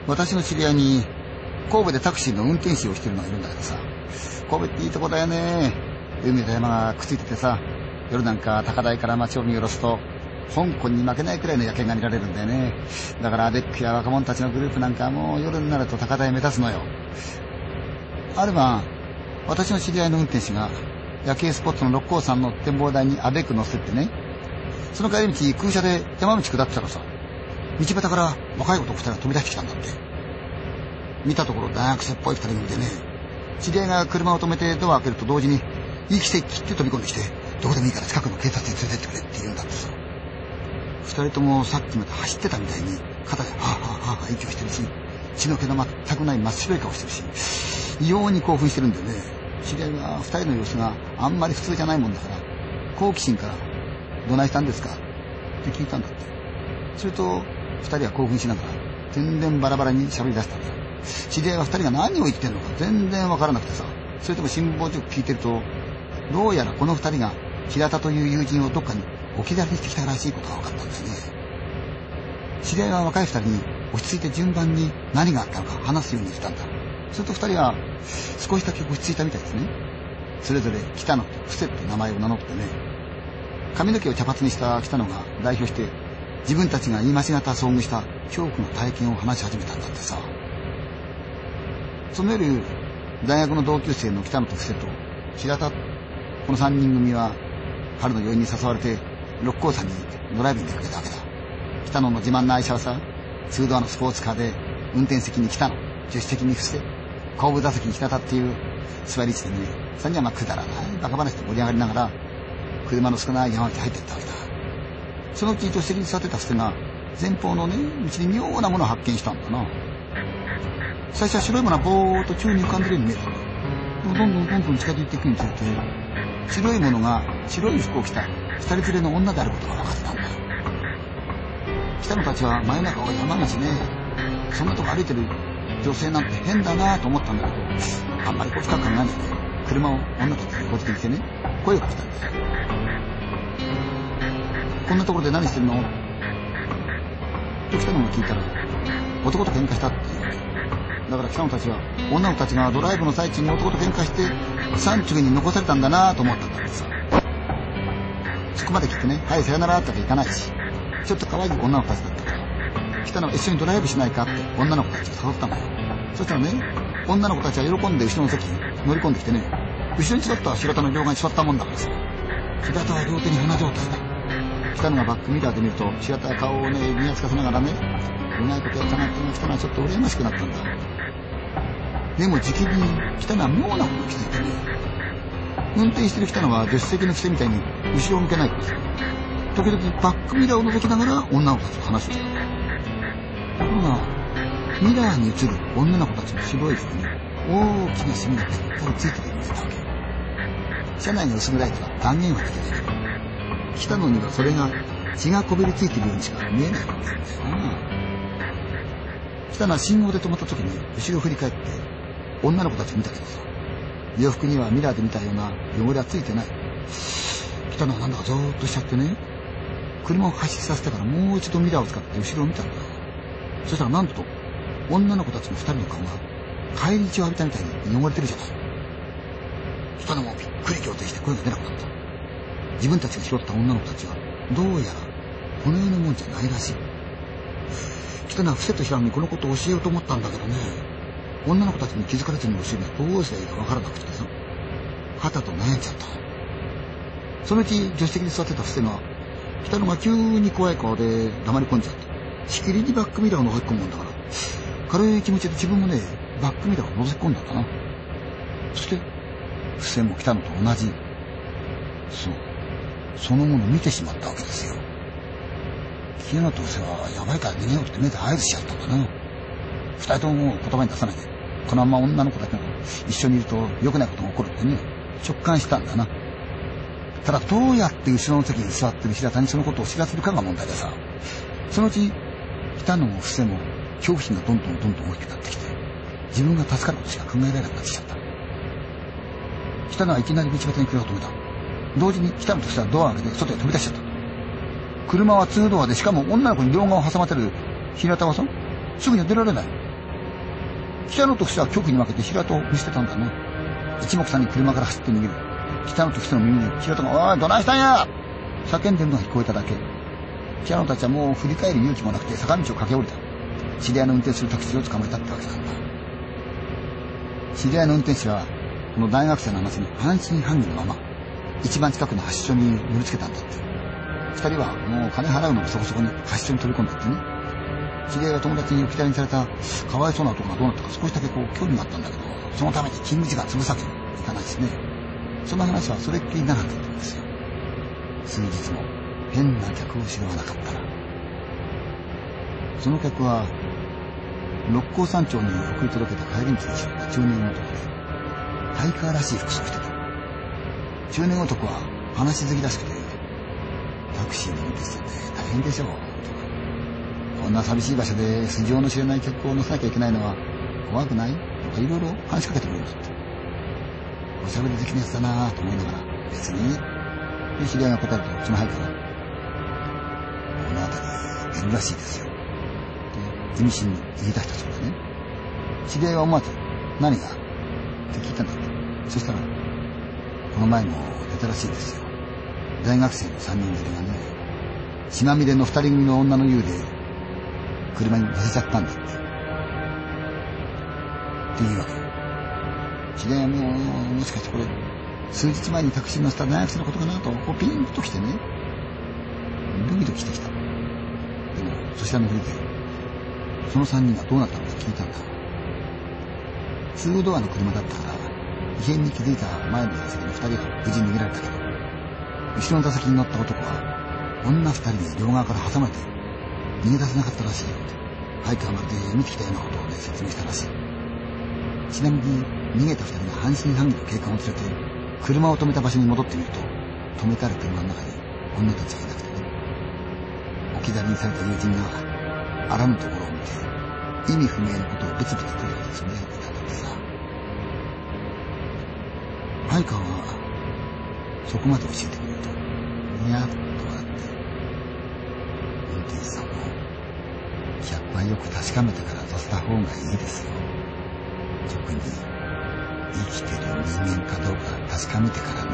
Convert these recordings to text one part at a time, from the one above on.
私の知り合いに神戸でタクシーの運転手をしてるのがいるんだけどさ、神戸っていいとこだよね。海と山がくっついててさ、夜なんか高台から街を見下ろすと香港に負けないくらいの夜景が見られるんだよね。だからアベックや若者たちのグループなんかもう夜になると高台目指すのよ。ある晩、私の知り合いの運転手が夜景スポットの六甲山の展望台にアベック乗せてってね、その帰り道空車で山道下ってたらさ、道端から若い男二人が飛び出してきたんだって。見たところ大学生っぽい二人組でね、知り合いが車を止めてドアを開けると同時に息せ切って飛び込んできて、どこでもいいから近くの警察に連れてってくれって言うんだってさ。二人ともさっきまで走ってたみたいに肩ではぁはぁはぁはぁ息をしてるし、血の気の全くない真っ白い顔してるし、異様に興奮してるんだよね。知り合いは二人の様子があんまり普通じゃないもんだから、好奇心から「どないしたんですか?」って聞いたんだって。すると二人は興奮しながら全然バラバラに喋り出したんだよ。知り合いは二人が何を言ってるのか全然わからなくてさ、それとも辛抱強く聞いてると、どうやらこの二人が平田という友人をどっかに置き去りにしてきたらしいことが分かったんですね。知り合いは若い二人に落ち着いて順番に何があったのか話すように言ったんだ。すると二人は少しだけ落ち着いたみたいですね。それぞれ北野と布施って名前を名乗ってね、髪の毛を茶髪にした北野が代表して自分たちが言い間違った遭遇した恐怖の体験を話し始めたんだってさ。その夜、大学の同級生の北野と布施と平田、この3人組は春の余韻に誘われて六甲山にドライブに出かけたわけだ。北野の自慢の愛車はさ、2ドアのスポーツカーで運転席に北野、助手席に布施、後部座席に平田っていう座り位置でね、3人はくだらないバカ話で盛り上がりながら車の少ない山道に入っていったわけだ。そのうち助手席に座ってた布施が前方のね、道に妙なものを発見したんだな。最初は白いものがぼーっと宙に浮かんでるように見えたんだ。でもどんどん近づいていくにつれて、白いものが白い服を着た二人連れの女であることが分かったんだ。北野たちは真夜中を山道ね、そんなとこ歩いてる女性なんて変だなと思ったんだけど、あんまり深く考えないで車を女たちに横付けにしてね、声をかけたんだよ。こんなところで何してるのと北野が聞いたら、男と喧嘩したって言うわけだから北野たちは女の子たちがドライブの最中に男と喧嘩して山中に残されたんだなと思ったんだってさ。そこまで聞いてね、はいさよならってわけいかないし、ちょっと可愛い女の子たちだったから北野が一緒にドライブしないかって女の子たちが誘ったのよ。そしたらね、女の子たちは喜んで後ろの席に乗り込んできてね、後ろに座った平田の両側に座ったもんだからさ、平田は両手に花状態だ。北野がバックミラーで見ると平田は顔をね見やつかせながらね、うまいことやったなっていうのが北野はちょっと羨ましくなったんだ。でもじきに北野は妙なことに気づいてね、運転してる北野は助手席の癖みたいに後ろを向けないからさ、時々バックミラーを覗きながら女の子たちと話をしてた。ところがミラーに映る女の子たちの白い服に大きなシミがぴったりついてるように見えたわけ。車内の薄暗いから断言はできないけど、北野にはそれが血がこびりついてるようにしか見えないわけなんだよな。北野は信号で止まった時に後ろを振り返って女の子たちを見たけどさ、洋服にはミラーで見たような汚れはついてない。北野はなんだかゾーッとしちゃってね、車を走りさせてからもう一度ミラーを使って後ろを見たんだ。そしたらなんと女の子たちの二人の顔が返り血を浴びたみたいに汚れてるじゃない。北野もびっくり仰天して声が出なくなった。自分たちが拾った女の子たちはどうやらこの世のもんじゃないらしい。北野は布施と平野にこのことを教えようと思ったんだけどね、女の子たちに気づかれずに教えるのはどうすればいいかわからなくてさ、はたと悩んじゃった。そのうち助手席に座ってた布施が北野が急に怖い顔で黙り込んじゃって、しきりにバックミラーを覗き込むもんだから、軽い気持ちで自分もねバックミラーを覗き込んだんだな。そして布施も北野と同じ、そのものを見てしまったわけですよ。清野と布施はやばいから逃げようって目で合図しちゃったんだな。二人とももう言葉に出さないで、このまま女の子たちが一緒にいると良くないことが起こるってね、直感したんだな。ただどうやって後ろの席に座ってる平田にそのことを知らせるかが問題でさ、そのうち北野も布施も恐怖心がどんどん大きくなってきて、自分が助かることしか考えられなくなってきちゃった。北野はいきなり道端に車を止めた。同時に北野と布施はドアを開けて外へ飛び出しちゃった。車は2ドアで、しかも女の子に両側を挟まってる平田はさ、すぐには出られない。 北野と布施は局に分けて平戸を見捨てたんだね。一目散に車から走って逃げる。北野と布施の耳に平戸が、おい、どないしたんや叫んでるのが聞こえただけ。北野たちはもう振り返る勇気もなくて坂道を駆け下りた。知り合いの運転するタクシーを捕まえたってわけなんだ。知り合いの運転手は、この大学生の話に半信半疑のまま、一番近くの発出所に乗りつけたんだって。二人はもう金払うのもそこそこに発出所に飛び込んだってね。知り合いが友達に置き去りにされたかわいそうな男がどうなったか少しだけ興味があったんだけど、そのために勤務時間潰すわけにいかないしね。その話はそれっきりなかったんですよ。数日後、変な客を知らなかったら。その客は、六甲山頂に送り届けた帰り道に知った中年男で、ハイカーらしい服装をしてた。中年男は話好きらしくて、タクシーの運転手って大変でしょう、とか。こんな寂しい場所で素性の知れない客を乗せなきゃいけないのは怖くないとかいろいろ話しかけてくれるんだって。おしゃべり好きなやつだなぁと思いながら、別に。で、知り合いが答えると、そのハイカーが、この辺り出るらしいですよ。で、意味深に言い出したそうだね。知り合いは思わず、何がって聞いたんだって。そしたら、この前も出たらしいですよ。大学生の3人連れがね、血まみれの2人組の女の湯で、車に乗せちゃったんだって。っていうわけよ。知り合いはもしかしてこれ、数日前にタクシーに乗せた大学生のことかなと、こうピンときてね、ドキドキしてきた。でも、そちらのふりで、その3人がどうなったのか聞いたんだ。ツードアの車だったから、異変に気づいた前の座席の2人は無事逃げられたけど、後ろの座席に乗った男は、女2人で両側から挟まれて、逃げ出せなかったらしいよって、ハイカーまで見てきたようなことをね、説明したらしい。ちなみに、逃げた2人が半信半疑の警官を連れて、車を止めた場所に戻ってみると、止めてある車の中に女たちがいなくてね。置き去りにされた友人が、あらぬところを見て、意味不明のことをブツブツというつぶやいていたんだってさ。ハイカーは、そこまで教えてくれると、にやっと笑って、運転手さんも、客はよく確かめてから乗せた方がいいですよ。特に、生きてる人間かどうか確かめてからね。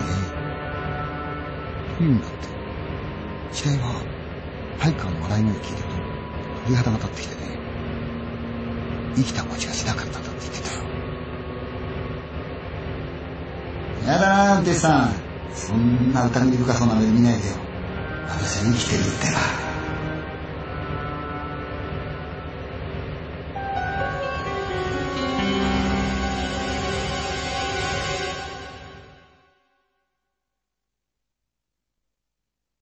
というんだって。知り合いは、ハイカーの笑い声を聞いてると、鳥肌が立ってきてね、生きた餅がしなかったんだって言ってたよ。やだな、運転手さん。そんな疑り深そうな目で見ないでよ。私は生きてるってば。